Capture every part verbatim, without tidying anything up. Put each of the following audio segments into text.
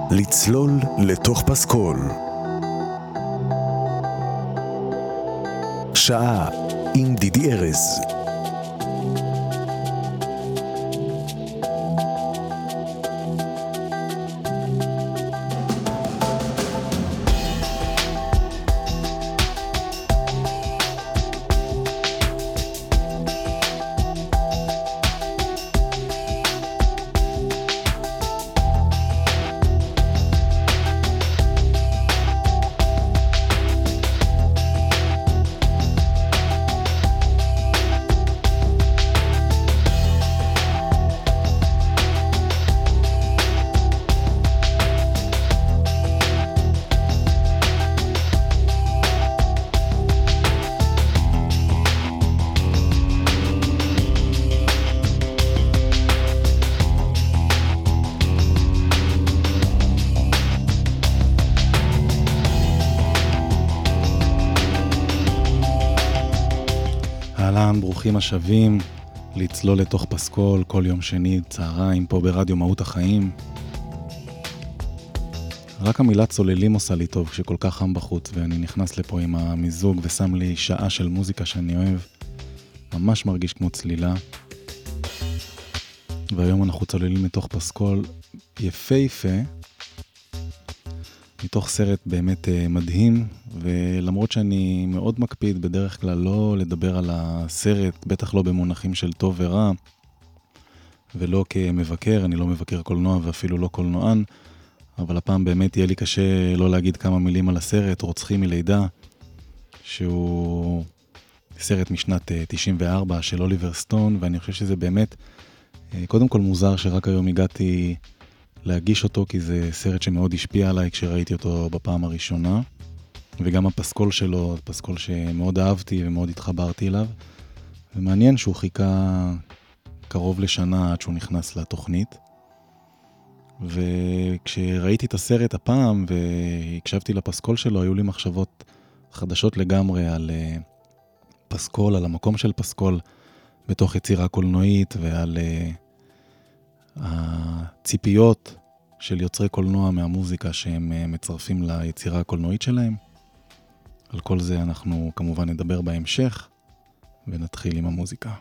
לצלול לתוך פסקול. שעה עם דידי ארז. ברוכים השבים לצלול לתוך פסקול כל יום שני צהריים פה ברדיו מהות החיים. רק המילה צוללים עושה לי טוב כשכל כך חם בחוץ, ואני נכנס לפה עם המיזוג ושם לי שעה של מוזיקה שאני אוהב. ממש מרגיש כמו צלילה. והיום אנחנו צוללים לתוך פסקול יפהפה, מתוך סרט באמת מדהים, ולמרות שאני מאוד מקפיד בדרך כלל לא לדבר על הסרט, בטח לא במונחים של טוב ורע, ולא כמבקר, אני לא מבקר קולנוע ואפילו לא קולנוען, אבל הפעם באמת יהיה לי קשה לא להגיד כמה מילים על הסרט, רוצחים מלידה, שהוא סרט משנת תשעים וארבע של אוליבר סטון, ואני חושב שזה באמת, קודם כל מוזר שרק היום הגעתי להגיש אותו, כי זה סרט שמאוד השפיע עליי כשראיתי אותו בפעם הראשונה, וגם הפסקול שלו, פסקול שמאוד אהבתי ומאוד התחברתי אליו, ומעניין שהוא חיכה קרוב לשנה עד שהוא נכנס לתוכנית. וכשראיתי את הסרט הפעם והקשבתי לפסקול שלו, היו לי מחשבות חדשות לגמרי על פסקול, על המקום של פסקול בתוך יצירה קולנועית, ועל הציפיות של יוצרי קולנוע מהמוזיקה שהם מצרפים ליצירה הקולנועית שלהם. על כל זה אנחנו כמובן נדבר בהמשך, ונתחיל עם המוזיקה.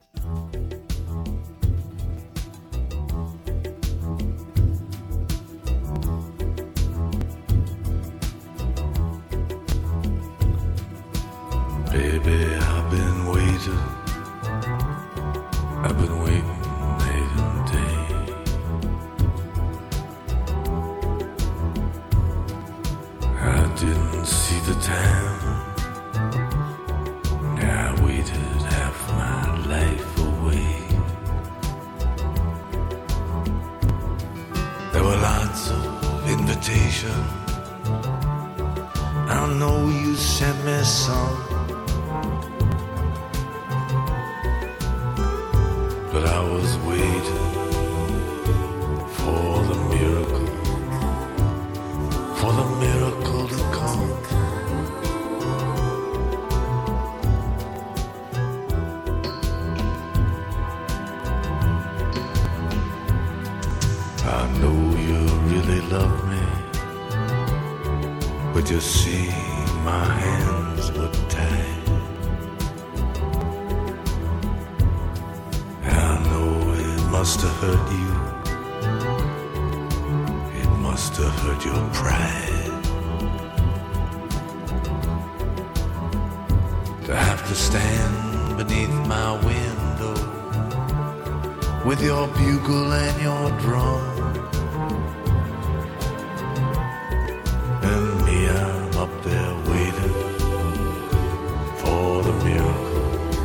Baby, I've been waiting, I've been waiting night and day. I didn't see the time, I waited half my life away. There were lots of invitations, I know you sent me some, but I was waiting for the miracle, for the miracle to come. I know you really love me, but you see my hands were tied. Must have hurt you, it must have hurt your pride, to have to stand beneath my window with your bugle and your drum, and me, I'm up there waiting for the miracle,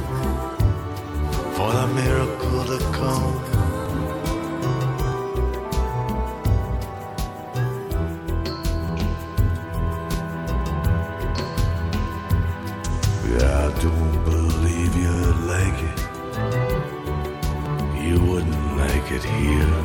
for the miracle to come. I don't believe you'd like it, you wouldn't like it here.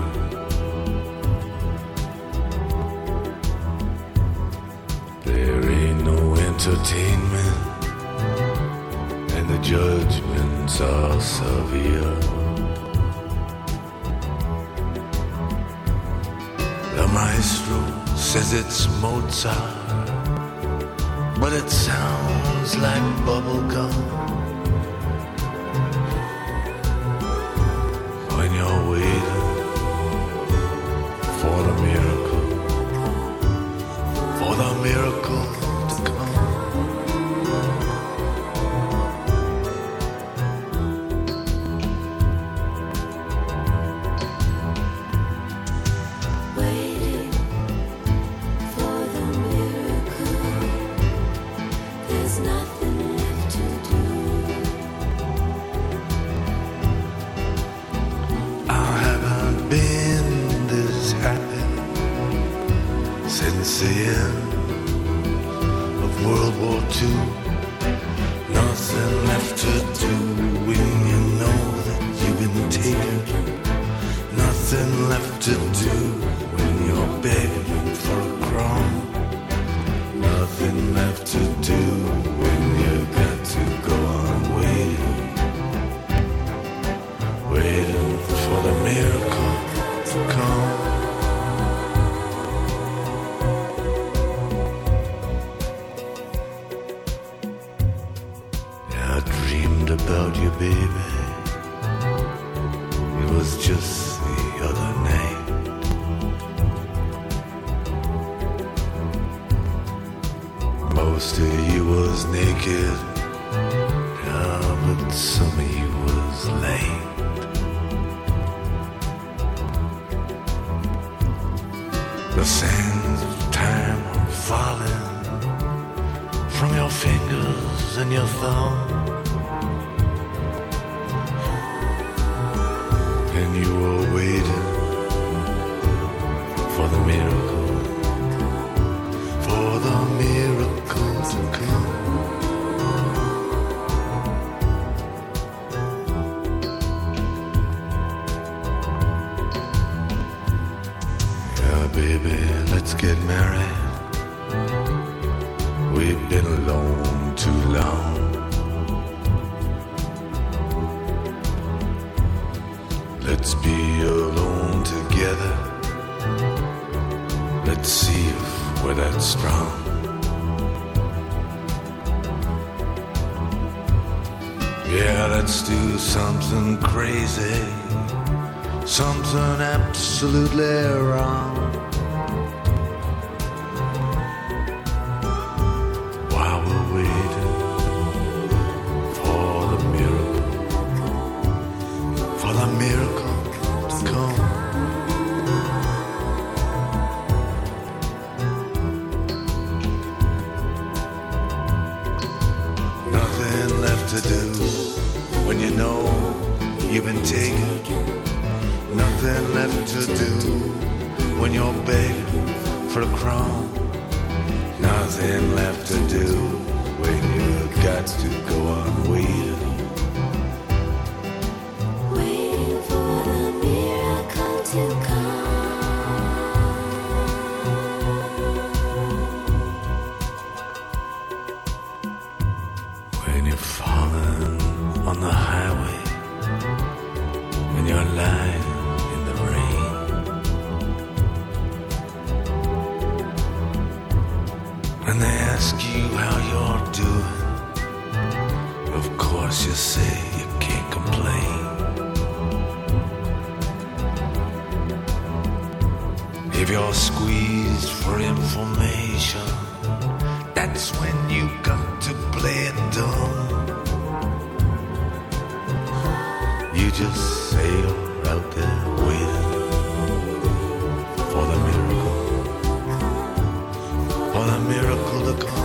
There ain't no entertainment, and the judgments are severe. The maestro says it's Mozart, but it sounds like bubblegum. When you're waiting for the miracle, for the miracle to come. Waiting for the miracle, there's nothing left to do. I haven't been this happy since the end of World War Two. Nothing left to do when you know that you've been taken. Nothing left to do when you're begging for a crumb. Nothing left to do when you got to go on waiting, waiting for the miracle to come. Yeah, I dreamed about you, baby. It was just the other night. Most of you was naked, yeah, but some of you was lame. The sands of time are falling from your fingers and your thumb, and you were waiting for the miracle, for the miracle to come. Yeah, baby, let's get married. We've been alone too long. Let's be alone together. Let's see if we're that strong. Yeah, let's do something crazy, something absolutely wrong. While we're waiting for the miracle, for the miracle to come. Nothing left to do when you know you've been taken. Nothing left to do when you're begging for a crumb. Nothing left to do when you got to go on waiting. Waiting for the miracle to come. When you're falling on the highway and you're lying in the rain, and they ask you how you're doing, of course you say you can't complain. If you're squeezed for information, that's when you got to play it dumb. You just sail out there waiting for the miracle, for the miracle to come.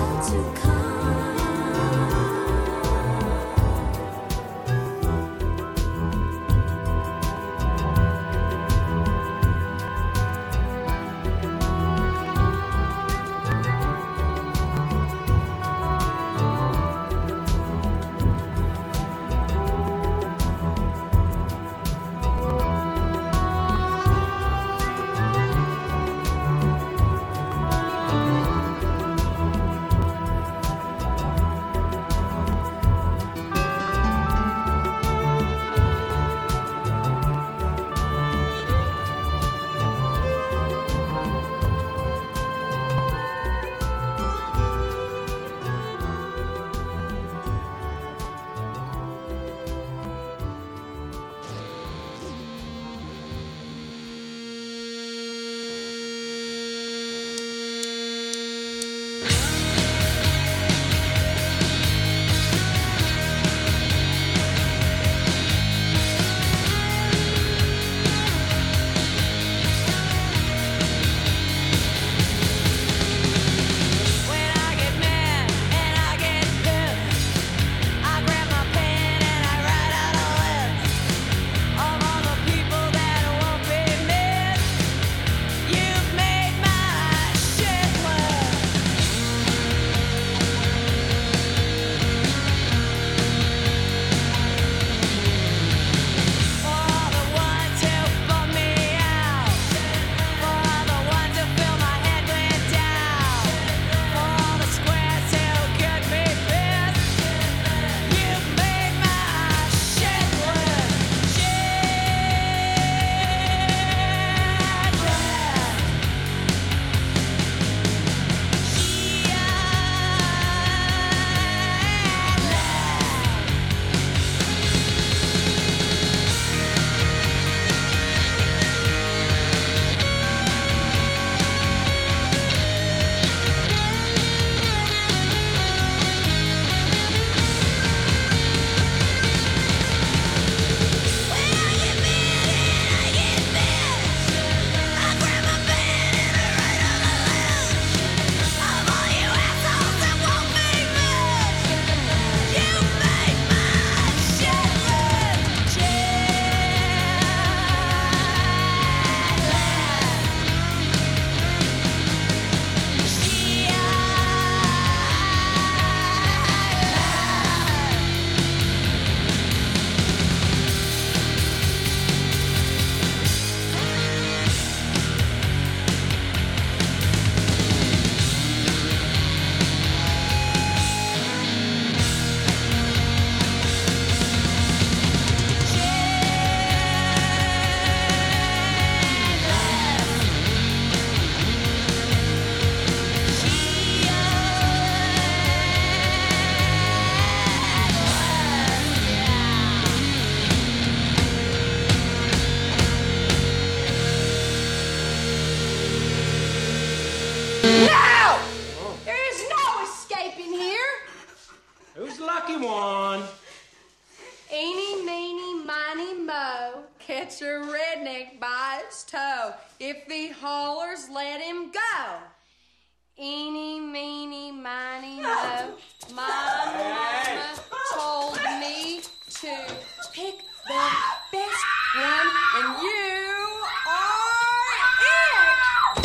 catch a redneck by its toe. If the haulers let him go. Eeny, meeny, miny, mo. My mama told me to pick the best one, and you are it!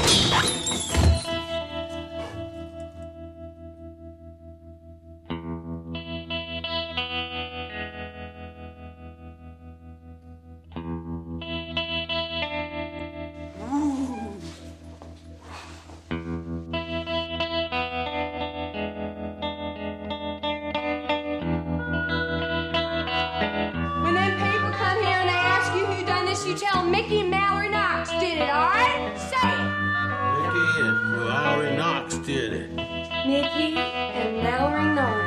When them people come here and they ask you who done this, you tell 'em Mickey and Mallory Knox did it, all right? Say it. Mickey and Mallory Knox did it. Mickey and Mallory Knox.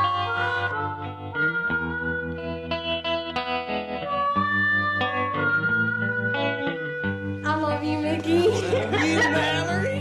I love you, Mickey. You, Mallory?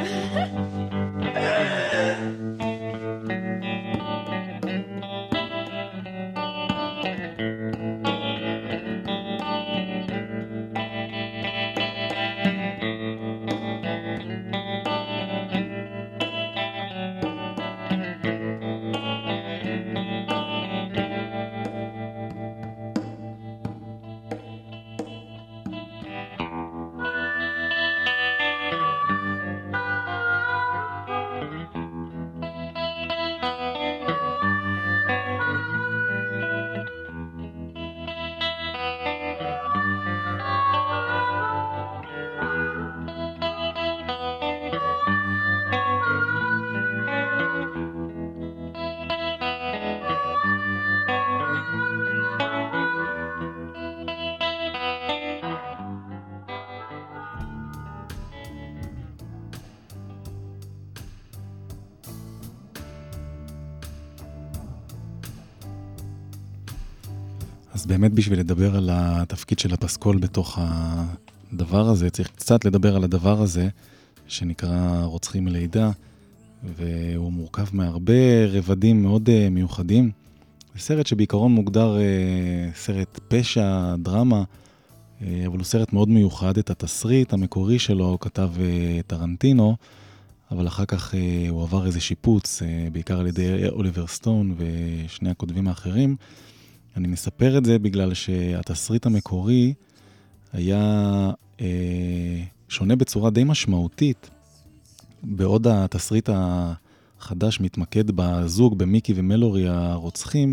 אז באמת בשביל לדבר על התפקיד של הפסקול בתוך הדבר הזה, צריך קצת לדבר על הדבר הזה, שנקרא רוצחים מלידה, והוא מורכב מהרבה רבדים מאוד מיוחדים. זה סרט שבעיקרון מוגדר סרט פשע, דרמה, אבל הוא סרט מאוד מיוחד. את התסריט המקורי שלו כתב טרנטינו, אבל אחר כך הוא עבר איזה שיפוץ, בעיקר על ידי אוליבר סטון ושני הכותבים האחרים. אני מספר את זה בגלל שהתסריט המקורי היה אה, שונה בצורה די משמעותית, בעוד התסריט החדש מתמקד בזוג, במיקי ומלורי הרוצחים.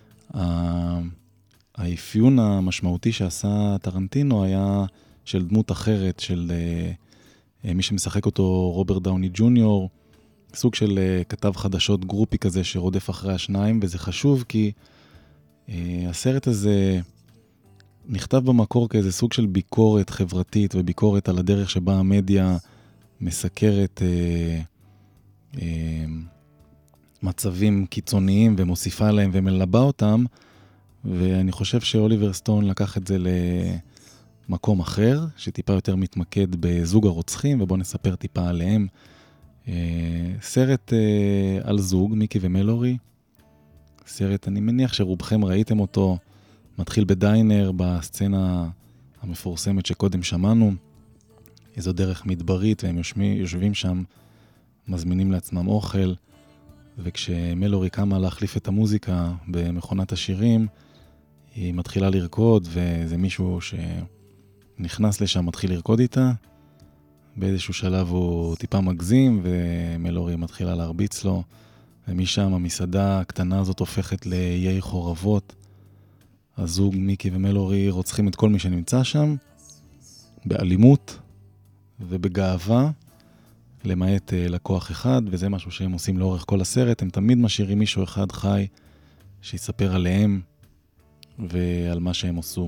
האפיון המשמעותי שעשה טרנטינו היה של דמות אחרת, של אה, מי שמשחק אותו רוברט דאוני ג'וניור, סוג של אה, כתב חדשות גרופי כזה שרודף אחרי השניים, וזה חשוב כי הסרט הזה נכתב במקור כאיזה סוג של ביקורת חברתית וביקורת על הדרך שבה המדיה מסקרת אה, אה, מצבים קיצוניים ומוסיפה להם ומלבה אותם, ואני חושב שאוליבר סטון לקח את זה למקום אחר, שטיפה יותר מתמקד בזוג הרוצחים, ובואו נספר טיפה עליהם. אה, סרט אה, על זוג, מיקי ומלורי, סרט, אני מניח שרובכם ראיתם אותו, מתחיל בדיינר, בסצנה המפורסמת שקודם שמענו, איזו דרך מדברית, והם יושבים, יושבים שם, מזמינים לעצמם אוכל, וכשמלורי קמה להחליף את המוזיקה במכונת השירים, היא מתחילה לרקוד, וזה מישהו שנכנס לשם, מתחיל לרקוד איתה, באיזשהו שלב הוא טיפה מגזים, ומלורי מתחילה להרביץ לו, ומשם המסעדה הקטנה הזאת הופכת לאיי חורבות. הזוג מיקי ומלורי רוצחים את כל מי שנמצא שם, באלימות ובגאווה, למעט לקוח אחד, וזה משהו שהם עושים לאורך כל הסרט. הם תמיד משאירים מישהו אחד חי שיספר עליהם ועל מה שהם עשו.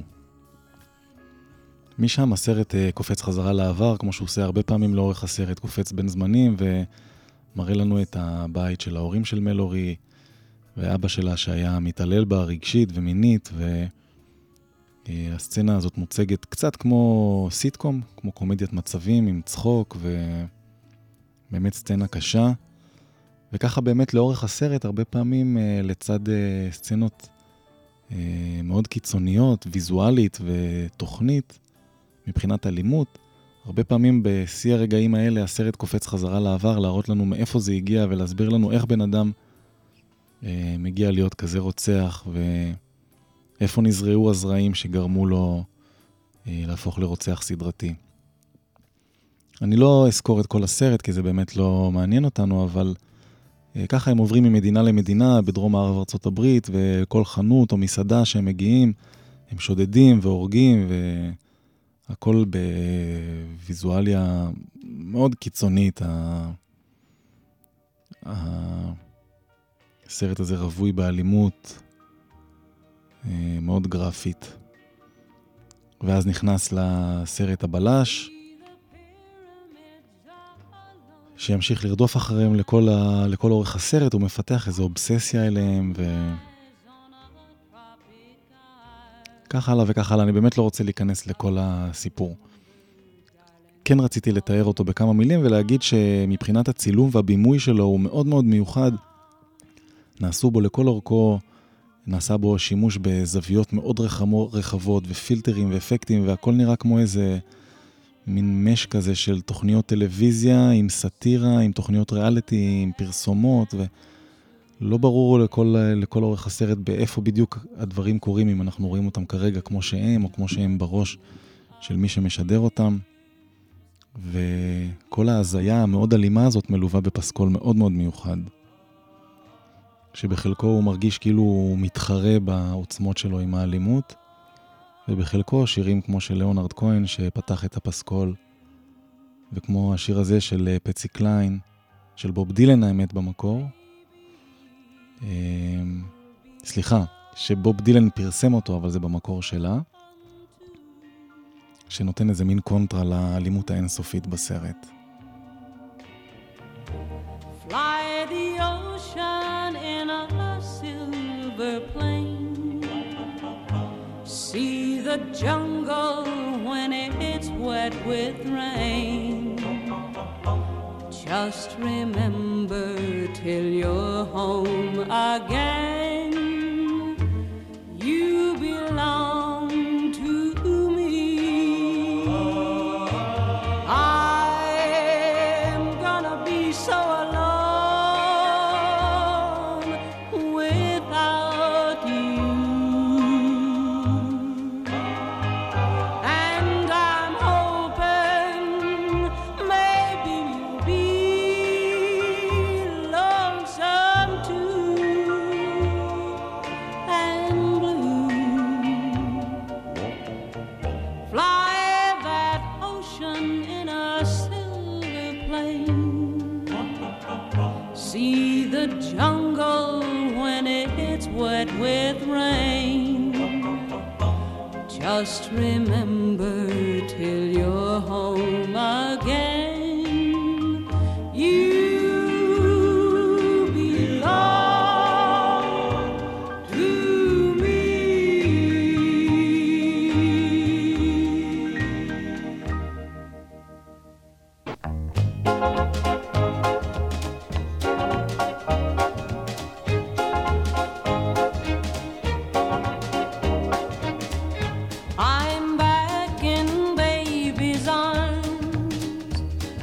משם הסרט קופץ חזרה לעבר, כמו שהוא עושה הרבה פעמים לאורך הסרט, קופץ בין זמנים ומראה לנו את הבית של ההורים של מלורי, ואבא שלה שהיה מתעלל בה רגשית ומינית, והסצנה הזאת מוצגת קצת כמו סיטקום, כמו קומדיית מצבים עם צחוק, ובאמת סצנה קשה. וככה באמת לאורך הסרט, הרבה פעמים לצד סצנות מאוד קיצוניות, ויזואלית ותוכנית, מבחינת אלימות. הרבה פעמים בשיא הרגעים האלה הסרט קופץ חזרה לעבר, להראות לנו מאיפה זה הגיע ולהסביר לנו איך בן אדם אה, מגיע להיות כזה רוצח, ואיפה נזרעו הזרעים שגרמו לו אה, להפוך לרוצח סדרתי. אני לא אזכור את כל הסרט, כי זה באמת לא מעניין אותנו, אבל אה, ככה הם עוברים ממדינה למדינה, בדרום מערב ארצות הברית, וכל חנות או מסעדה שהם מגיעים, הם שודדים והורגים, והכל בוויזואליה מאוד קיצונית. הסרט הזה רווי באלימות, אה, מאוד גרפית. ואז נכנס לסרט הבלש, שימשיך לרדוף אחריהם לכל, ה... לכל אורך הסרט, הוא מפתח איזו אובססיה אליהם, ו... כך הלאה וכך הלאה. אני באמת לא רוצה להיכנס לכל הסיפור. כן רציתי לתאר אותו בכמה מילים, ולהגיד שמבחינת הצילום והבימוי שלו הוא מאוד מאוד מיוחד. נעשו בו לכל אורכו, נעשה בו שימוש בזוויות מאוד רחבות, ופילטרים ואפקטים, והכל נראה כמו איזה מין מש כזה של תוכניות טלוויזיה, עם סאטירה, עם תוכניות ריאליטי, עם פרסומות, ולא ברור לכל, לכל אורך הסרט באיפה בדיוק הדברים קורים, אם אנחנו רואים אותם כרגע כמו שהם, או כמו שהם בראש של מי שמשדר אותם. וכל ההזיה המאוד אלימה הזאת מלווה בפסקול מאוד מאוד מיוחד, שבחלקו הוא מרגיש כאילו הוא מתחרה בעוצמות שלו עם האלימות, ובחלקו שירים כמו של ליאונרד כהן שפתח את הפסקול, וכמו השיר הזה של פצי קליין, של בוב דילן האמת במקור, סליחה, שבוב דילן פרסם אותו, אבל זה במקור שלה, שנותן איזה מין קונטרה לאלימות האינסופית בסרט. Fly the ocean in a silver plane. See the jungle when it's wet with rain. Just remember till you're home again, you belong to me. I'm gonna be so alone without you, and I'm hoping maybe you'll be lonesome too, and blue. Fly that ocean in a silver plane. See the jungle when it's wet with rain. Just remember till you're home again, you belong to me. I'm back in baby's arms.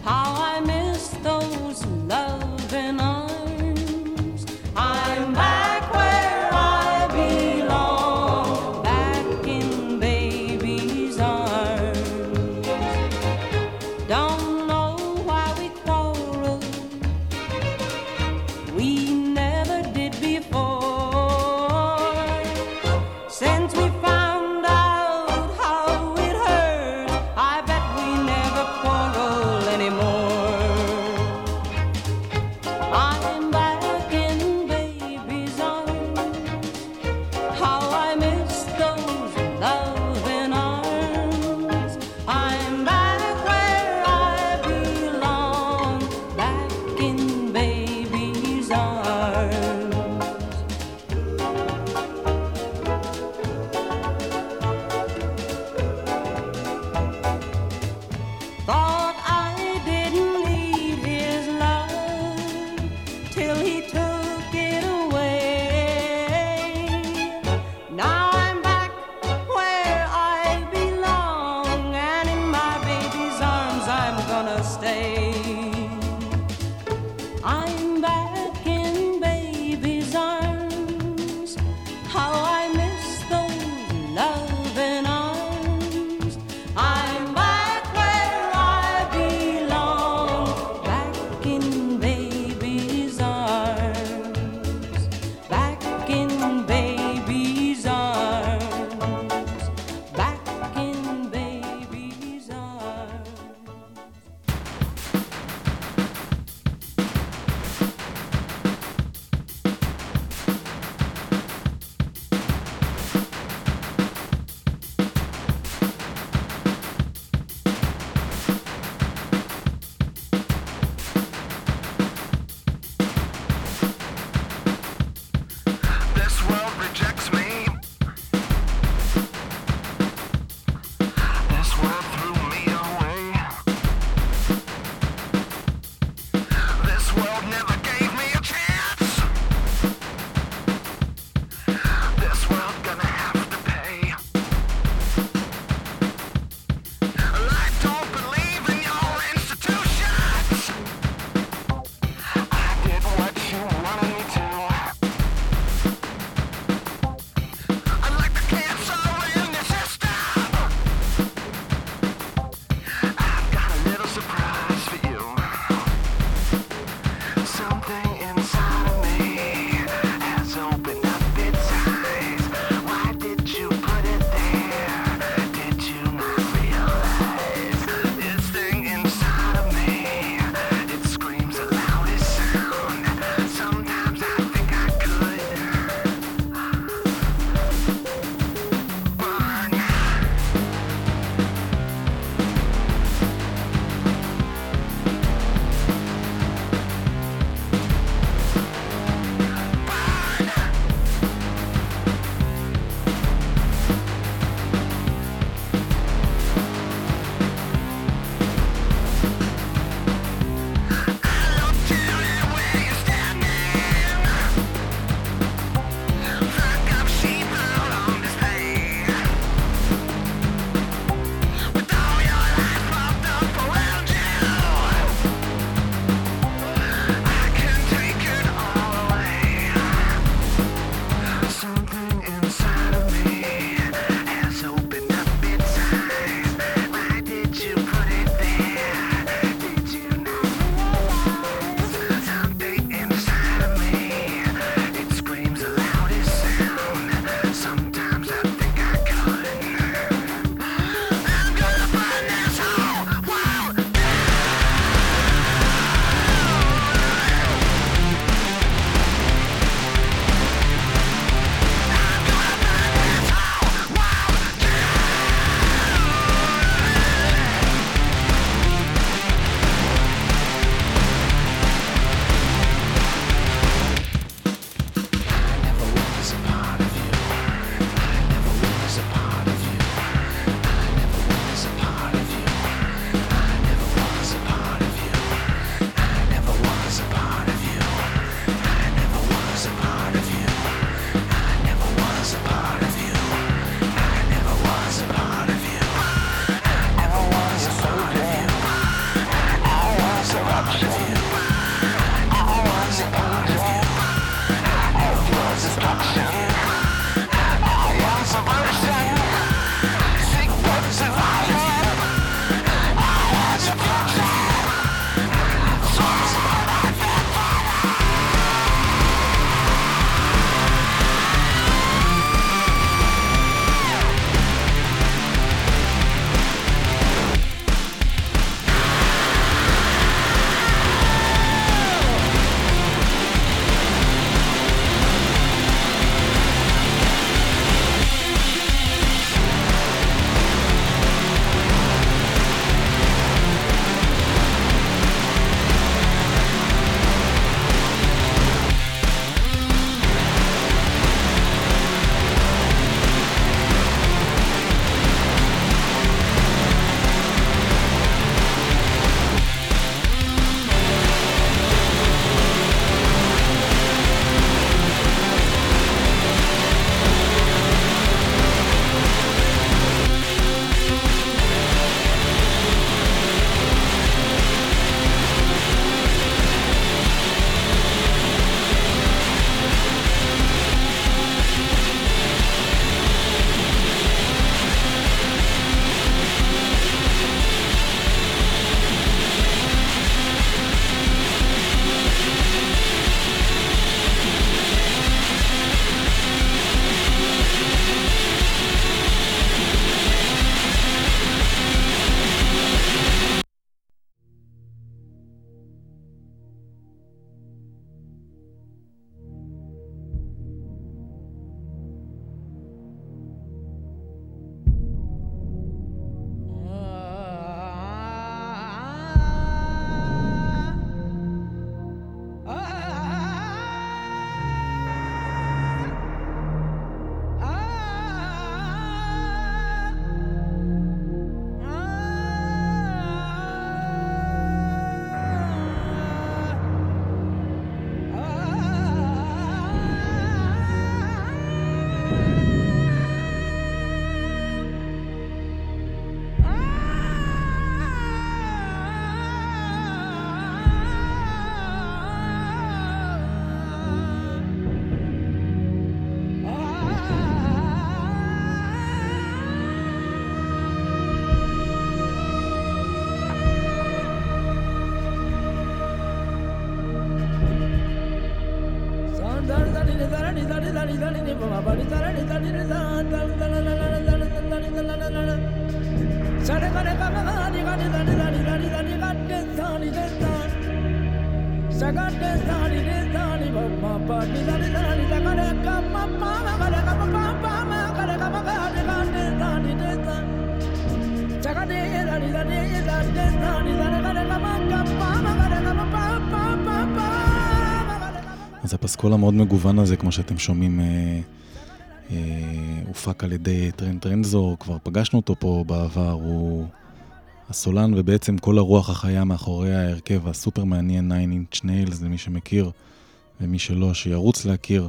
אז הפסקול המאוד מגוון הזה, כמו שאתם שומעים, אה, אה, הופק על ידי טרנט רנזור, כבר פגשנו אותו פה בעבר, הוא הסולן ובעצם כל הרוח החיה מאחורי ההרכב הסופר מעניין Nine Inch Nails, למי שמכיר ומי שלא שירוץ להכיר,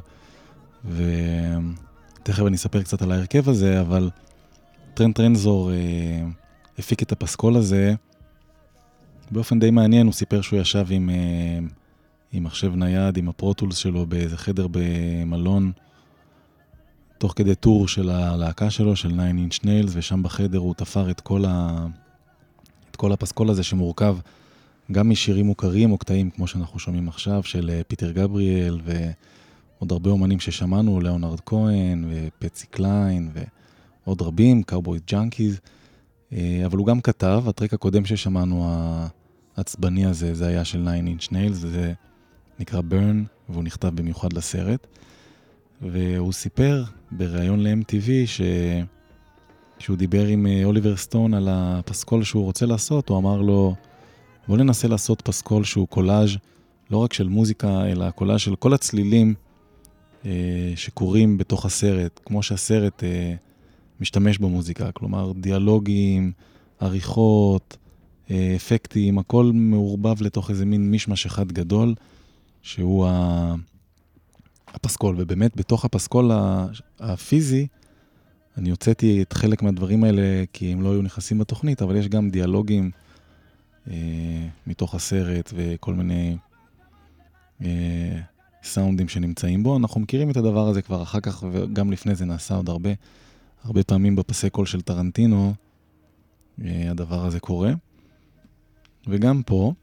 ותכף אני אספר קצת על ההרכב הזה, אבל טרנט רנזור אה, הפיק את הפסקול הזה באופן די מעניין. הוא סיפר שהוא ישב עם, אה, עם מחשב נייד, עם הפרוטולס שלו באיזה חדר במלון, תוך כדי טור של הלהקה שלו, של Nine Inch Nails, ושם בחדר הוא תפר את כל, ה... את כל הפסקול הזה שמורכב גם משירים מוכרים או קטעים, כמו שאנחנו שומעים עכשיו, של פיטר גבריאל ועוד הרבה אומנים ששמענו, ליאונרד כהן ופצי קליין ועוד רבים, קאובוי ג'אנקיז, אבל הוא גם כתב, הטרק הקודם ששמענו, העצבני הזה, זה היה של Nine Inch Nails, זה נקרא Burn, והוא נכתב במיוחד לסרט, והוא סיפר בראיון ל-אם טי וי ש... כשהוא דיבר עם אוליבר סטון על הפסקול שהוא רוצה לעשות, הוא אמר לו, בוא ננסה לעשות פסקול שהוא קולאז' לא רק של מוזיקה, אלא קולאז' של כל הצלילים אה, שקורים בתוך הסרט, כמו שהסרט אה, משתמש במוזיקה, כלומר דיאלוגים, עריכות, אה, אפקטים, הכל מעורבב לתוך איזה מין משמש אחד גדול, שהוא ה... הפסקול, ובאמת בתוך הפסקול הפיזי, אני הוצאתי את חלק מהדברים האלה כי הם לא היו נכנסים בתוכנית, אבל יש גם דיאלוגים אה, מתוך הסרט וכל מיני אה, סאונדים שנמצאים בו. אנחנו מכירים את הדבר הזה כבר אחר כך, וגם לפני זה נעשה עוד הרבה, הרבה פעמים בפסי קול של טרנטינו, אה, הדבר הזה קורה. וגם פה,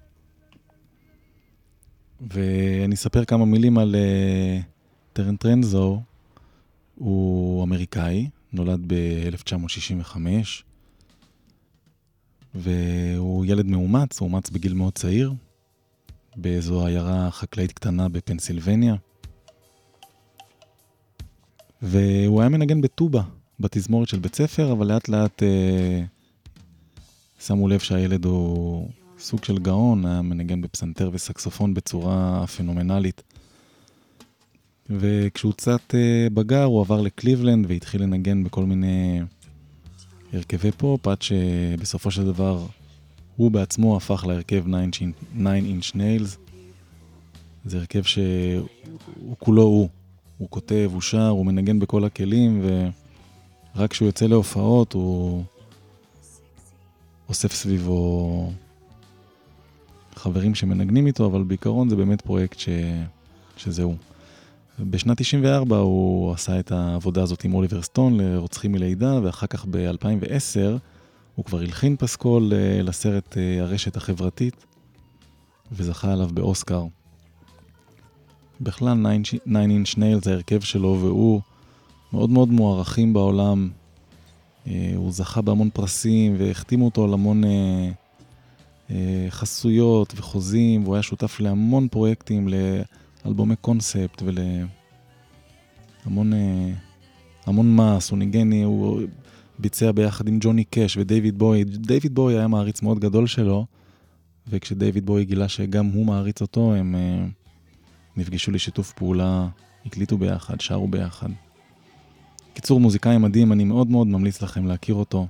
ואני אספר כמה מילים על אה, טרנט רנזור, הוא אמריקאי, נולד ב-אלף תשע מאות שישים וחמש, והוא ילד מאומץ, הוא אומץ בגיל מאוד צעיר, באיזו עיירה חקלאית קטנה בפנסילבניה, והוא היה מנגן בטובה, בתזמורת של בית ספר, אבל לאט לאט אה, שמו לב שהילד הוא סוג של גאון, היה מנגן בפסנתר וסקסופון בצורה פנומנלית, וכשהוא קצת בגר, הוא עבר לקליבלנד והתחיל לנגן בכל מיני הרכבי פופ, עד שבסופו של דבר הוא בעצמו הפך להרכב Nine Inch Nails. זה הרכב שהוא כולו הוא. הוא כותב, הוא שר, הוא מנגן בכל הכלים, ורק כשהוא יוצא להופעות הוא אוסף סביבו חברים שמנגנים איתו, אבל בעיקרון זה באמת פרויקט ש... שזהו. בשנת תשעים וארבע הוא עשה את העבודה הזאת עם אוליבר סטון לרוצחים מלידה, ואחר כך ב-אלפיים ועשר הוא כבר הלחין פסקול לסרט הרשת החברתית, וזכה עליו באוסקר. בכלל Nine Inch Nails זה הרכב שלו, והוא מאוד מאוד מוערכים בעולם. הוא זכה בהמון פרסים, והחתימו אותו על המון חסויות וחוזים, והוא היה שותף להמון פרויקטים, לאלבומי קונספט ולהמון המון מס. הוא ניגן, הוא ביצע ביחד עם ג'וני קש ודייוויד בוי. דייוויד בוי היה מעריץ מאוד גדול שלו, וכשדייוויד בוי גילה שגם הוא מעריץ אותו, הם נפגשו לשיתוף פעולה, הקליטו ביחד, שרו ביחד. קיצור, מוזיקאי מדהים, אני מאוד מאוד ממליץ לכם להכיר אותו,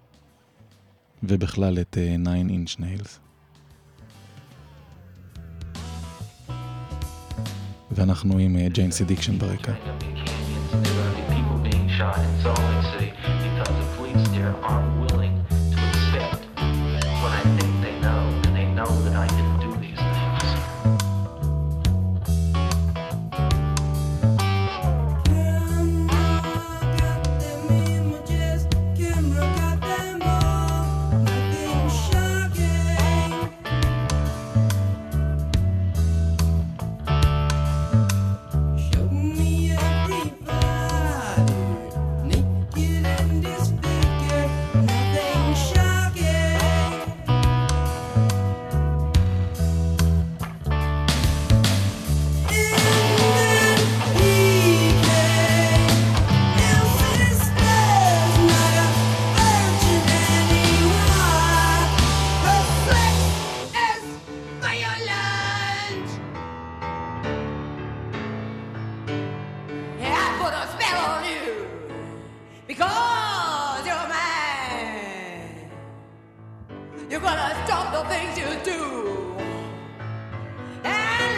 ובכלל את uh, Nine Inch Nails. ואנחנו עם uh, Jane's Addiction ברקע. Show me a You're gonna stop the things you do. And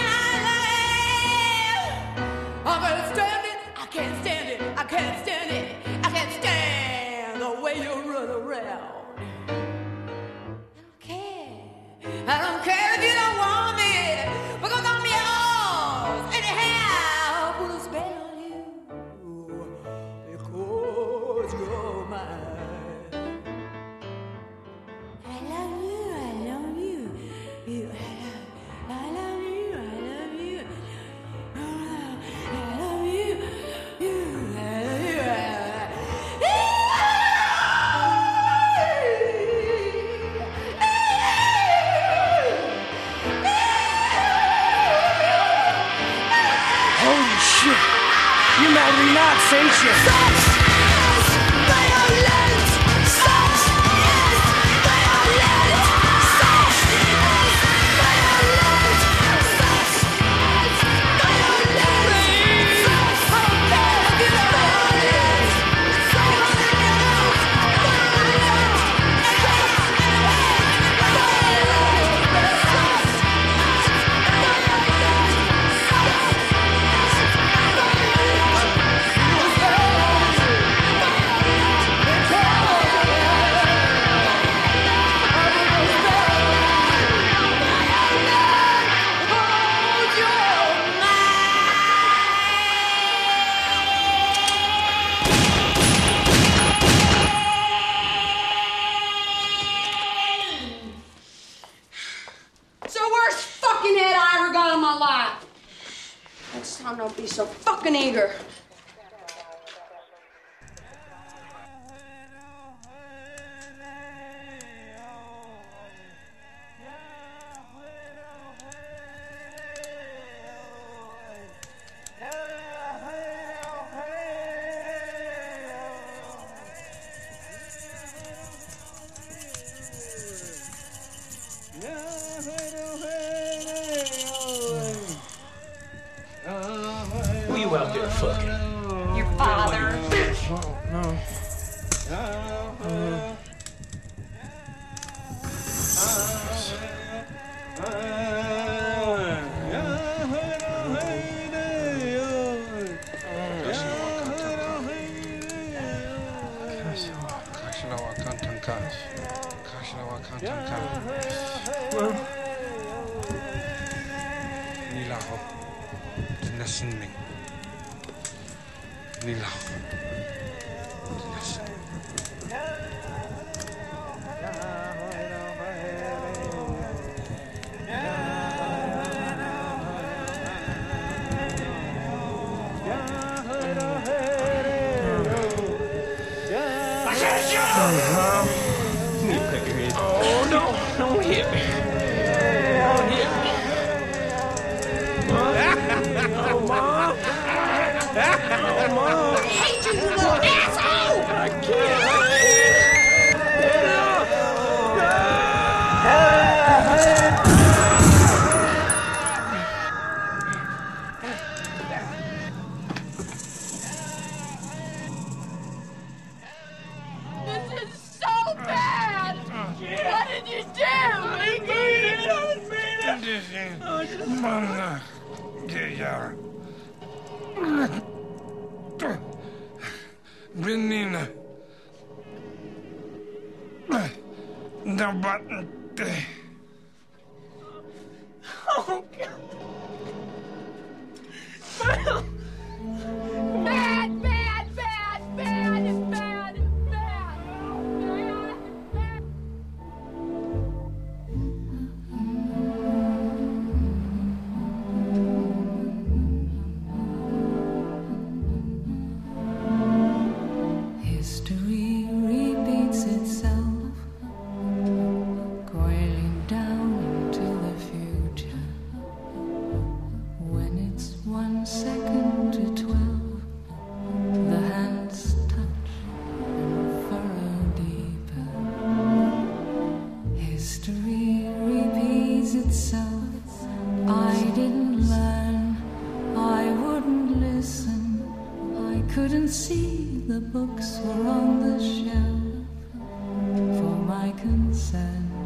I'm gonna stand it. I can't stand it. I can't stand it. I can't stand the way you run around. I don't care if you don't want me, because I'm yours. Anyhow, put a spell on you, because you're mine. I love you, I love you, you, I love, I love you, I love you, I love you, you, I love you, I love you. You mad me nuts, ain't you? Such is violence. Such is violence. Such is violence. Such is violence. Such time don't be so fucking eager. Who you out there fucking? Your father. Oh, no. Oh, no, don't hit me. Don't hit me. Oh, Mom. Oh, Mom. I hate you, you little asshole! I can't. This is so bad! What did you do? I made it! I made it! Benina. Da batente. Oh, God. Bad, bad, bad, bad, bad, bad. History repeats itself, coiling down into the future. When it's one second to twelve, the hands touch and furrow deeper. History repeats itself. I didn't learn, I wouldn't listen, I couldn't see the books were on the shelf for my consent.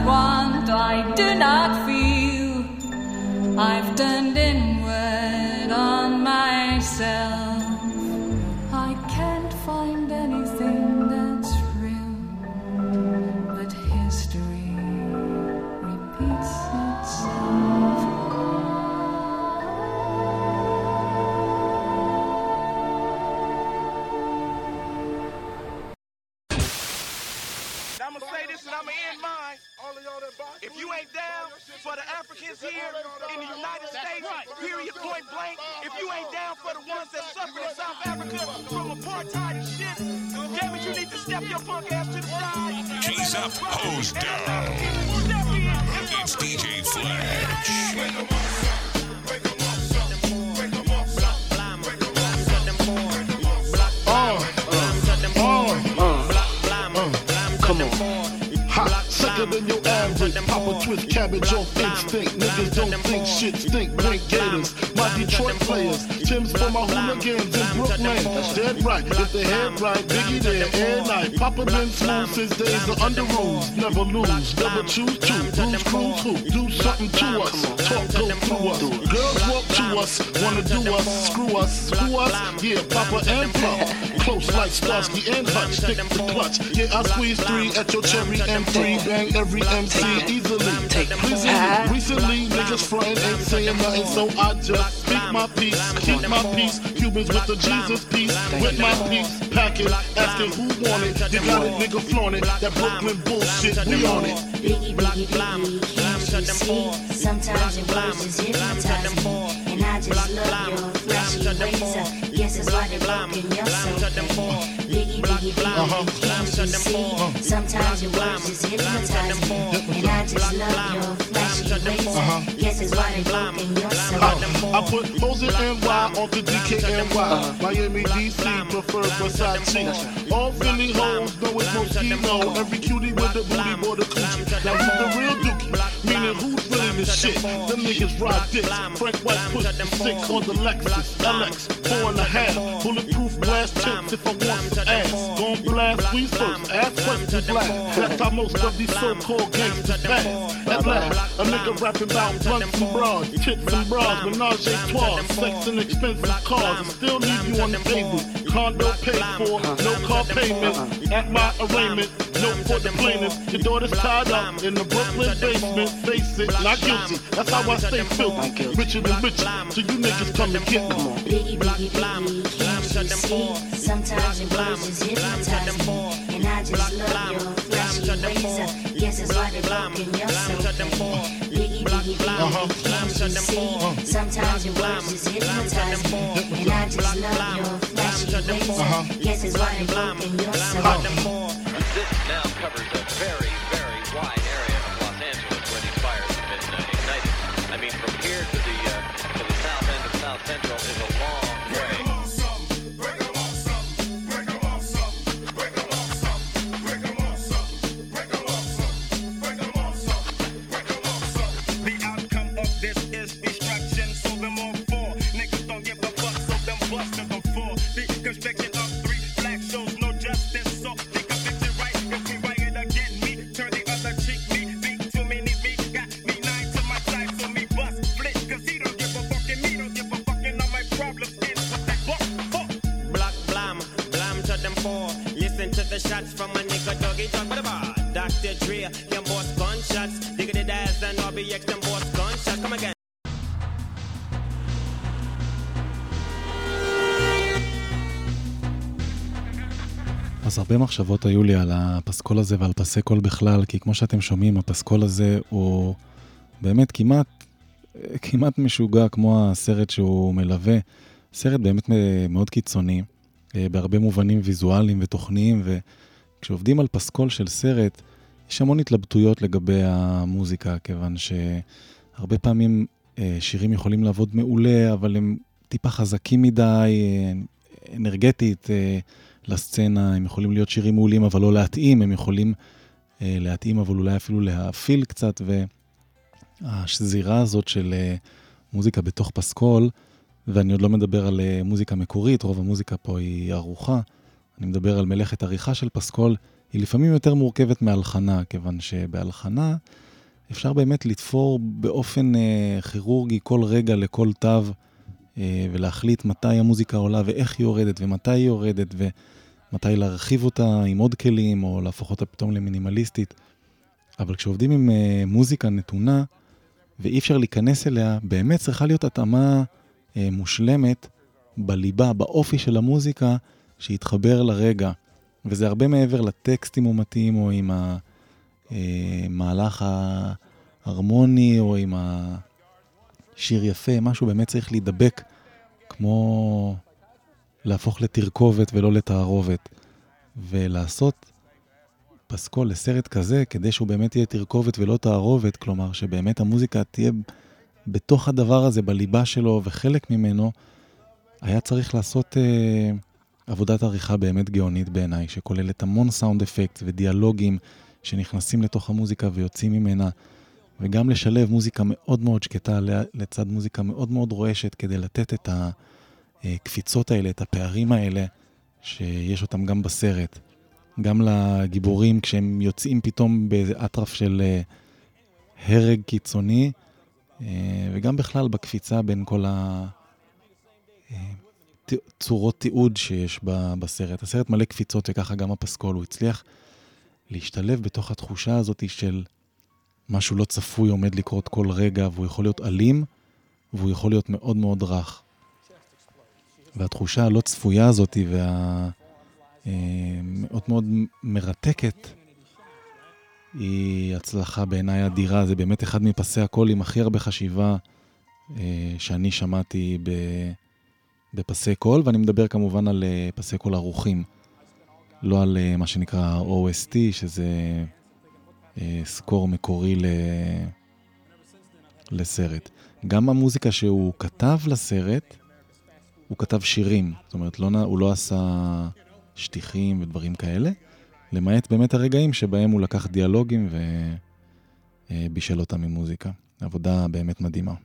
want, I do not feel. I've turned inward on myself. I can't find anything that's real, but history repeats itself. I'm gonna say this and I'm gonna end mine. If you ain't down for the Africans here in the United States, period, point blank, if you ain't down for the ones that suffer in South Africa from apartheid and shit, damn it, you need to step your punk ass to the side. G's up, hose down. It's D J Fletch. Come on. Hot, sicker than your average. Papa twist cabbage off instinct. Niggas don't think shit stink. Drink gators. My Detroit players. Tim's for my hooligans in Brooklyn. Dead right. If the head right, Biggie there, air night. Papa been smooth since days of under rules. Never lose. Never choose to. Bruise, cruise, who? Do something to us. Talk, go through us. Girls walk to us. Wanna do us. Screw us. Screw us. Yeah, Papa and Plum. Close like Starsky and Hutch. Stick the clutch. Yeah, I squeeze three at your cherry M three. Bang every M C easily. Recently, recently niggas frontin' ain't saying nothing, so I just speak my peace, keep my peace. Cubans with the Jesus peace, with my peace, pack it, asking who want it. You got it, nigga flaunt it. That Brooklyn bullshit, we on it. Biggie, biggie, biggie, can't you see? Sometimes your words just hypnotize me, and I just love your flashy razor. Yes, it's why they broken your soul. Biggie, biggie, biggie, can't you see? Sometimes your words just hypnotize me, and I just love your flashy razor. Yes, it's why they broken your soul. I put hoes in N Y onto D K N Y. Miami, D C prefer Versace. All Philly hoes know it's Moschino. Every cutie with the booty boy the coochie. Now who's the real dookie? Meaning who's really the shit? Them niggas ride dicks. Frank White put six on the Lexus L X four and a half. Bulletproof glass tips if I want some ass. Gon' blast squeeze first. Ass first to blast. That's how most of these so-called gangsters pass. At last, a nigga rapping about blunts and bras, tits and bras, menage a trois, sex and expensive cars, and still leave you on the table. Condo paid for, no car payment. At my arraignment, no for the plaintiff. Your daughter's tied up in the Brooklyn basement. Face it, not guilty. That's how I stay filthy. Richer than richer, so you niggas come and get me. Biggie, biggie, biggie, can't you see? Sometimes your words just hypnotize me, and I just love your flashy razor. Yes, it's why they broken your soul. Biggie, biggie, biggie, can't you see? Sometimes your words just hypnotize me, and I just love your flashy razor. Yes, it's why they broken your soul. This now covers a very, very wide area of Los Angeles where these fires have been uh, ignited. I mean, from here to the uh, to the south end of South Central is a long way. The outcome of this is destruction, so them all four. Niggas don't give a fuck, so them busters them four. The construction of three black shows no justice, so they convict it right. If we riot again, me turn the other cheek, me beat too many, me got me nine to my side, so me bust split, cause he don't give a fuck and me don't give a fuck, and all my problems is with that buck, fuck. Block blam, blam to them four. Listen to the shots from a nigga doggy dog by the bar. Doctor Dre, them boss gunshots. Diggity Daz and R B X, them boss gunshots. Come again. אז הרבה מחשבות היו לי על הפסקול הזה ועל פסי קול בכלל, כי כמו שאתם שומעים, הפסקול הזה הוא באמת כמעט, כמעט משוגע כמו הסרט שהוא מלווה. סרט באמת מאוד קיצוני, בהרבה מובנים ויזואליים ותוכניים, וכשעובדים על פסקול של סרט, יש המון התלבטויות לגבי המוזיקה, כיוון שהרבה פעמים שירים יכולים לעבוד מעולה, אבל הם טיפה חזקים מדי, אנרגטית, לסצנה, הם יכולים להיות שירים מעולים, אבל לא להתאים, הם יכולים אה, להתאים, אבל אולי אפילו להפיל קצת, והשזירה הזאת של אה, מוזיקה בתוך פסקול, ואני עוד לא מדבר על אה, מוזיקה מקורית, רוב המוזיקה פה היא ערוכה, אני מדבר על מלאכת עריכה של פסקול, היא לפעמים יותר מורכבת מהלחנה, כיוון שבהלחנה אפשר באמת לתפור באופן אה, כירורגי כל רגע לכל תו, אה, ולהחליט מתי המוזיקה עולה ואיך היא יורדת ומתי היא יורדת ומתי להרחיב אותה עם עוד כלים או להפוך אותה פתאום למינימליסטית. אבל כשעובדים עם אה, מוזיקה נתונה ואי אפשר להיכנס אליה, באמת צריכה להיות התאמה אה, מושלמת בליבה, באופי של המוזיקה שיתחבר לרגע. וזה הרבה מעבר לטקסטים ומתאים או עם המהלך ההרמוני או עם השיר יפה, משהו באמת צריך להידבק כמו להפוך לתרכובת ולא לתערובת. ולעשות פסקול לסרט כזה כדי שהוא באמת יהיה תרכובת ולא תערובת, כלומר שבאמת המוזיקה תהיה בתוך הדבר הזה, בליבה שלו וחלק ממנו, היה צריך לעשות אה, עבודת עריכה באמת גאונית בעיניי, שכוללת המון סאונד אפקט ודיאלוגים שנכנסים לתוך המוזיקה ויוצאים ממנה, וגם לשלב מוזיקה מאוד מאוד שקטה לצד מוזיקה מאוד מאוד רועשת, כדי לתת את הקפיצות האלה, את הפערים האלה, שיש אותם גם בסרט. גם לגיבורים כשהם יוצאים פתאום באיזה אטרף של הרג קיצוני, וגם בכלל בקפיצה בין כל הצורות תיעוד שיש בסרט. הסרט מלא קפיצות וככה גם הפסקול. הוא הצליח להשתלב בתוך התחושה הזאת של משהו לא צפוי עומד לקרות כל רגע, והוא יכול להיות אלים, והוא יכול להיות מאוד מאוד רך. והתחושה הלא צפויה הזאת וה... מאוד מאוד מרתקת, היא הצלחה בעיניי אדירה. זה באמת אחד מפסי הקול עם הכי הרבה חשיבה שאני שמעתי בפסי קול, ואני מדבר כמובן על פסי קול ערוכים, לא על מה שנקרא או אס טי, שזה סקור מקורי לסרט. גם המוזיקה שהוא כתב לסרט, הוא כתב שירים, זאת אומרת לא, הוא לא עשה שטיחים ודברים כאלה, למעט באמת הרגעים שבהם הוא לקח דיאלוגים ובישל אותם עם מוזיקה. עבודה באמת מדהימה.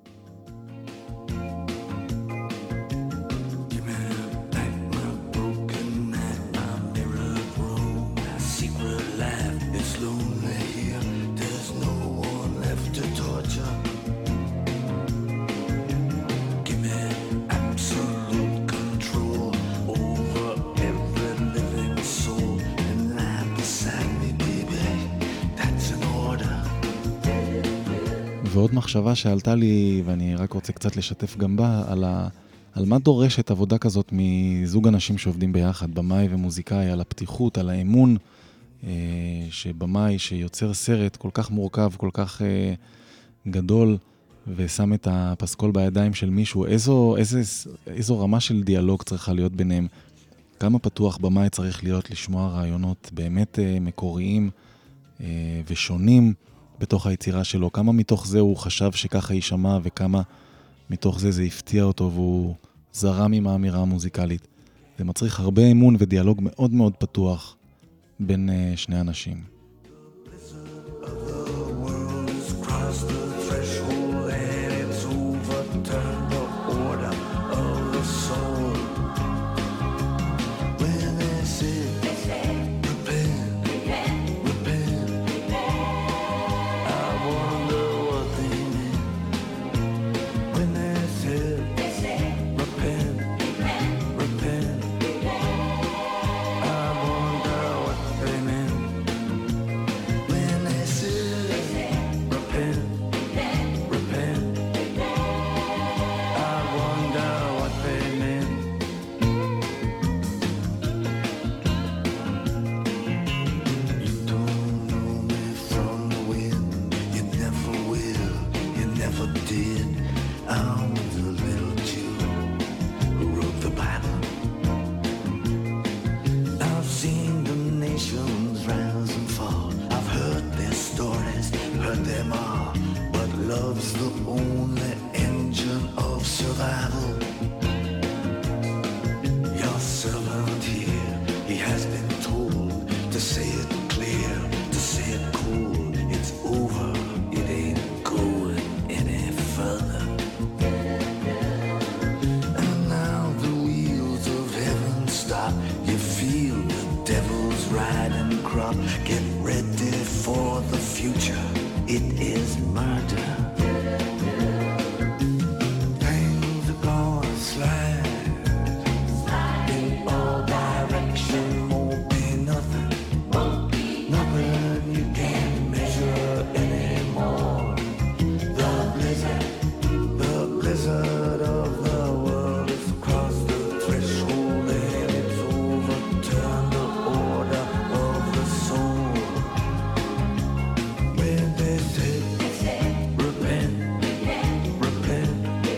ועוד מחשבה שעלתה לי, ואני רק רוצה קצת לשתף גם בה, על, ה, על מה דורשת עבודה כזאת מזוג אנשים שעובדים ביחד, במאי ומוזיקאי, על הפתיחות, על האמון, אה, שבמאי שיוצר סרט כל כך מורכב, כל כך אה, גדול, ושם את הפסקול בידיים של מישהו, איזו, איזו, איזו רמה של דיאלוג צריכה להיות ביניהם, כמה פתוח במאי צריך להיות לשמוע רעיונות באמת אה, מקוריים אה, ושונים, בתוך היצירה שלו, כמה מתוך זה הוא חשב שככה יישמע, וכמה מתוך זה זה הפתיע אותו, והוא זרם עם האמירה המוזיקלית. זה מצריך הרבה אמון ודיאלוג מאוד מאוד פתוח בין uh, שני אנשים. You feel the devil's riding Get ready for the future. It is murder. Things are gonna slide in all directions. Won't be nothing, nothing you can measure anymore. The blizzard, the blizzard of the world has crossed the threshold and it's overturned the order of the soul. When they said, repent, repent,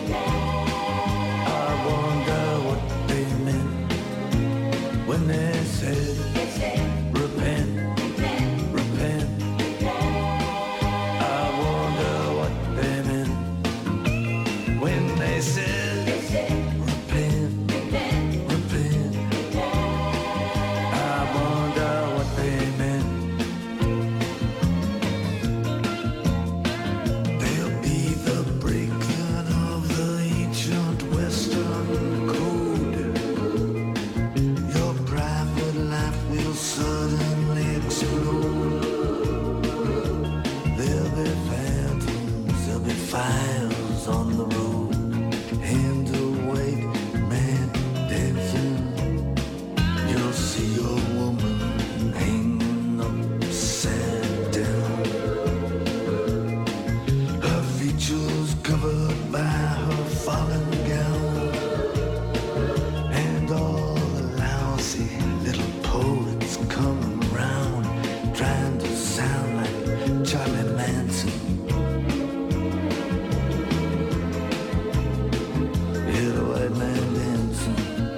I wonder what they meant. When they said, repent, repent, I wonder what they meant. When they said, repent, repent, I wonder what they meant. They'll be the breaking of the ancient Western code. Your private life will suddenly explode. There'll be phantoms, there'll be fires on the road. Hand away, man dancing. You'll see a woman hanging upside down. Her features covered by her fallen gown. And all the lousy little poets coming round, trying to sound like Charlie Manson. Hear the white man dancing.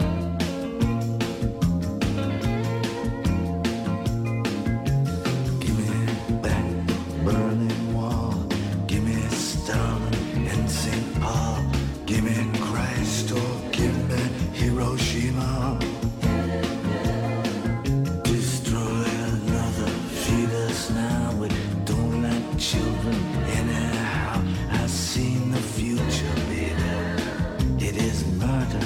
Give me back Berlin Wall. Give me Stalin and Saint Paul. Give me Christ or give me Hiroshima. Destroy another, feed us now. We don't like children anyhow. I've seen the future, baby. It is murder.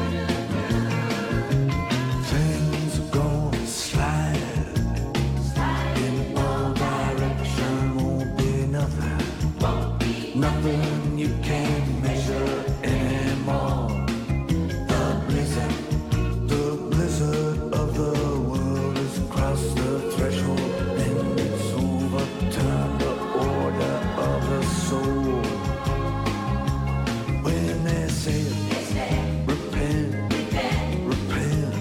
Things are gonna slide in all directions. Won't be nothing, nothing you can measure anymore. The blizzard, the blizzard of the world has crossed the threshold and it's overturned the order of the soul. When they say, repent, repent,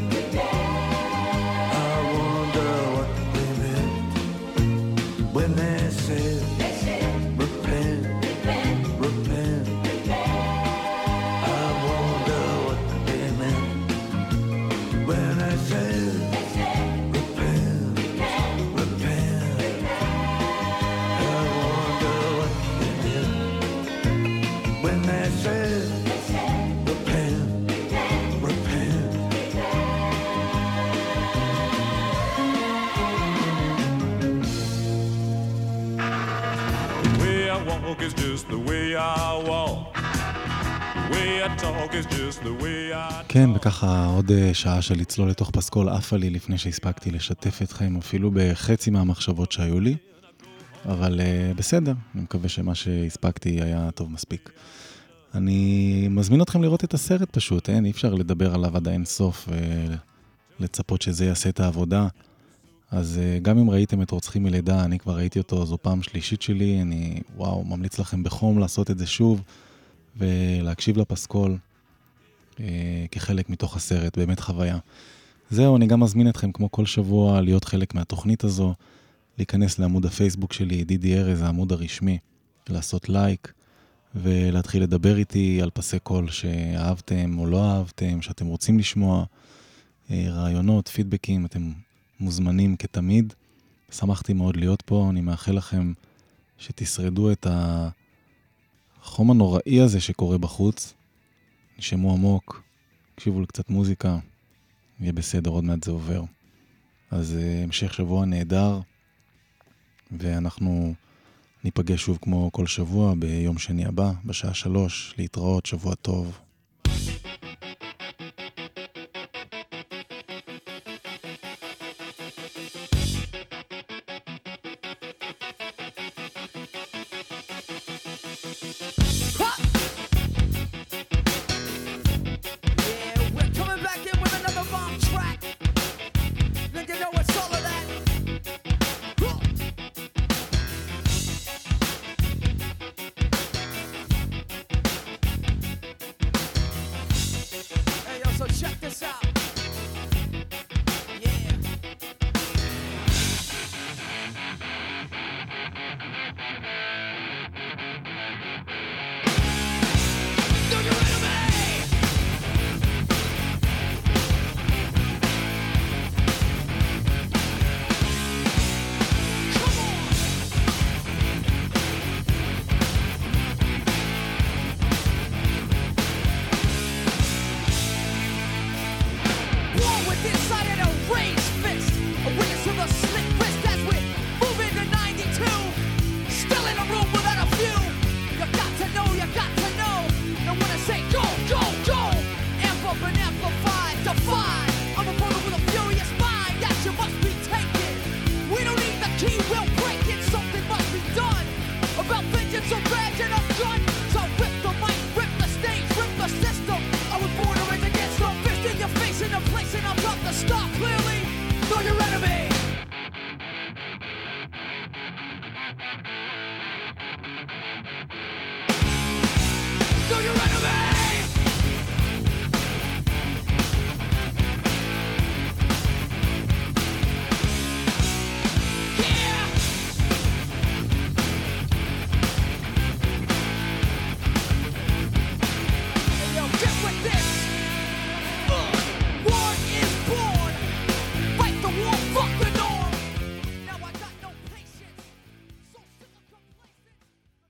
I wonder what they meant. When they say, repent, repent, I wonder what they meant. When I say, repent, repent, I wonder what they meant. When they say, repent, repent. The way I walk is just the way I walk. The way I talk is just the way I... כן, וככה עוד אה, שעה של לצלול לתוך פסקול עפה לי לפני שהספקתי לשתף אתכם אפילו בחצי מהמחשבות שהיו לי, אבל אה, בסדר, אני מקווה שמה שהספקתי היה טוב מספיק. אני מזמין אתכם לראות את הסרט פשוט, אין, אי אפשר לדבר עליו עד אין סוף ולצפות שזה יעשה את העבודה. אז אה, גם אם ראיתם את רוצחים מלידה, אני כבר ראיתי אותו, זו פעם שלישית שלי, אני וואו, ממליץ לכם בחום לעשות את זה שוב ולהקשיב לפסקול אה, כחלק מתוך הסרט, באמת חוויה. זהו, אני גם מזמין אתכם כמו כל שבוע להיות חלק מהתוכנית הזו, להיכנס לעמוד הפייסבוק שלי, דידי ארז, העמוד הרשמי, לעשות לייק ולהתחיל לדבר איתי על פסי קול שאהבתם או לא אהבתם, שאתם רוצים לשמוע, אה, רעיונות, פידבקים, אתם מוזמנים כתמיד. שמחתי מאוד להיות פה, אני מאחל לכם שתשרדו את החום הנוראי הזה שקורה בחוץ. נשמו עמוק, תקשיבו לקצת מוזיקה, יהיה בסדר, עוד מעט זה עובר. אז uh, המשך שבוע נהדר, ואנחנו ניפגש שוב כמו כל שבוע ביום שני הבא, בשעה שלוש, להתראות, שבוע טוב.